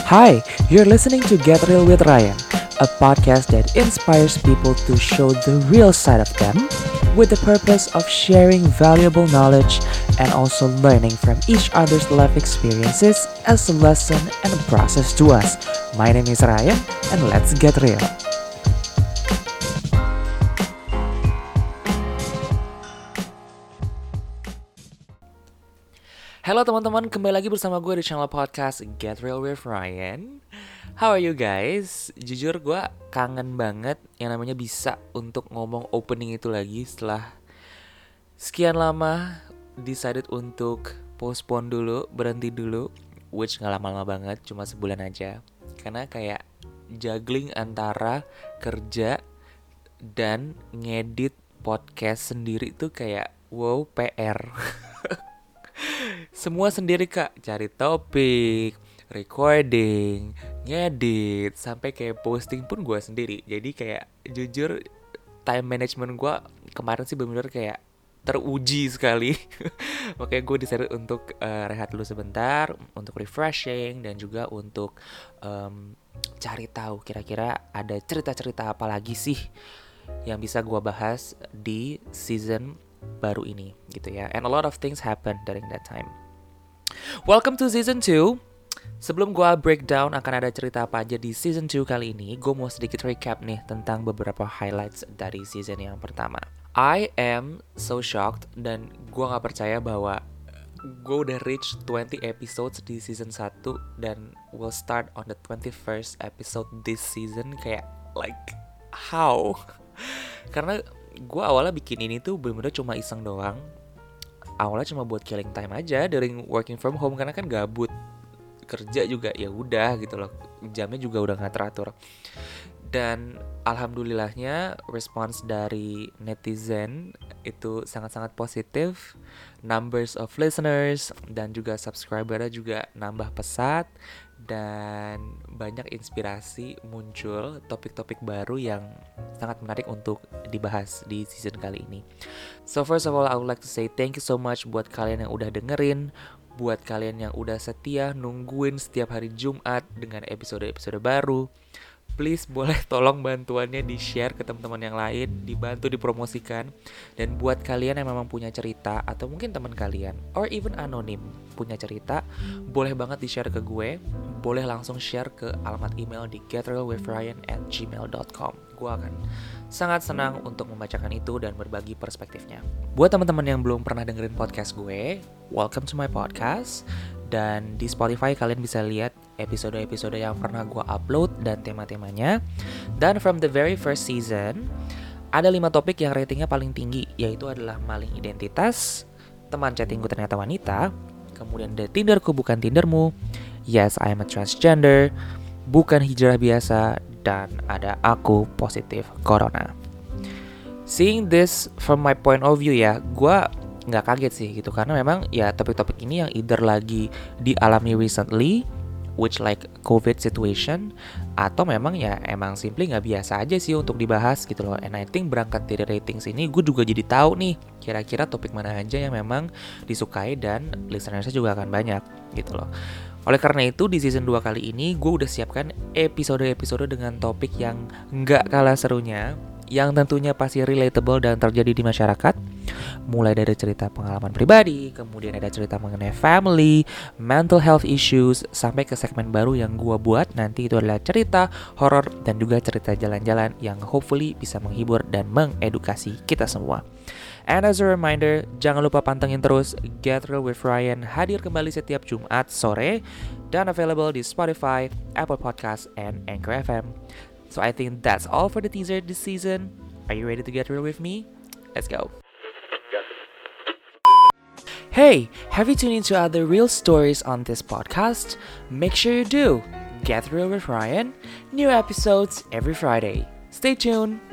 Hi, you're listening to Get Real with Ryan, a podcast that inspires people to show the real side of them with the purpose of sharing valuable knowledge and also learning from each other's life experiences as a lesson and a process to us. My name is Ryan, and let's get real. Halo teman-teman, kembali lagi bersama gue di channel podcast Get Real with Ryan. How are you guys? Jujur gue kangen banget yang namanya bisa untuk ngomong opening itu lagi setelah sekian lama decided untuk postpone dulu, berhenti dulu. Which gak lama-lama banget, cuma sebulan aja. Karena kayak juggling antara kerja dan ngedit podcast sendiri tuh kayak wow PR. Semua sendiri kak, cari topik, recording, ngedit, sampai kayak posting pun gue sendiri. Jadi kayak jujur time management gue kemarin sih benar-benar kayak teruji sekali. Makanya gue decided untuk rehat dulu sebentar, untuk refreshing dan juga untuk cari tahu kira-kira ada cerita-cerita apa lagi sih yang bisa gue bahas di season baru ini gitu ya. And a lot of things happen during that time. Welcome to season 2. Sebelum gue breakdown akan ada cerita apa aja di season 2 kali ini, gue mau sedikit recap nih tentang beberapa highlights dari season yang pertama. I am so shocked dan gue gak percaya bahwa gue udah reach 20 episodes di season 1 dan will start on the 21st episode this season. Kayak like how? Karena gue awalnya bikin ini tuh bener-bener cuma iseng doang. Awalnya cuma buat killing time aja during working from home karena kan gabut, kerja juga ya udah gitu loh, jamnya juga udah nggak teratur. Dan alhamdulillahnya respons dari netizen itu sangat-sangat positif. Numbers of listeners dan juga subscribernya juga nambah pesat. Dan banyak inspirasi muncul, topik-topik baru yang sangat menarik untuk dibahas di season kali ini. So first of all, I would like to say thank you so much buat kalian yang udah dengerin, buat kalian yang udah setia nungguin setiap hari Jumat dengan episode-episode baru. Please boleh tolong bantuannya di-share ke teman-teman yang lain, dibantu dipromosikan. Dan buat kalian yang memang punya cerita atau mungkin teman kalian or even anonim punya cerita, boleh banget di-share ke gue. Boleh langsung share ke alamat email di getrealwithryan@gmail.com. Gue akan sangat senang untuk membacakan itu dan berbagi perspektifnya. Buat teman-teman yang belum pernah dengerin podcast gue, welcome to my podcast. Dan di Spotify kalian bisa lihat episode-episode yang pernah gue upload dan tema-temanya. Dan from the very first season, ada 5 topik yang ratingnya paling tinggi, yaitu adalah maling identitas, teman chattingku ternyata wanita, kemudian The Tinderku bukan Tindermu, Yes I am a transgender, bukan hijrah biasa, dan ada aku positif corona. Seeing this from my point of view ya, gue nggak kaget sih gitu, karena memang ya topik-topik ini yang either lagi dialami recently, which like COVID situation, atau memang ya emang simply nggak biasa aja sih untuk dibahas gitu loh. And I think berangkat dari ratings ini gue juga jadi tahu nih kira-kira topik mana aja yang memang disukai dan listenersnya juga akan banyak gitu loh. Oleh karena itu di season 2 kali ini gue udah siapkan episode-episode dengan topik yang nggak kalah serunya, yang tentunya pasti relatable dan terjadi di masyarakat. Mulai dari cerita pengalaman pribadi, kemudian ada cerita mengenai family, mental health issues, sampai ke segmen baru yang gue buat nanti itu adalah cerita horor dan juga cerita jalan-jalan yang hopefully bisa menghibur dan mengedukasi kita semua. And as a reminder, jangan lupa pantengin terus Get Real with Ryan, hadir kembali setiap Jumat sore dan available di Spotify, Apple Podcasts, and Anchor FM. So I think that's all for the teaser this season. Are you ready to get real with me? Let's go. Hey, have you tuned into other real stories on this podcast? Make sure you do. Get Real with Ryan. New episodes every Friday. Stay tuned.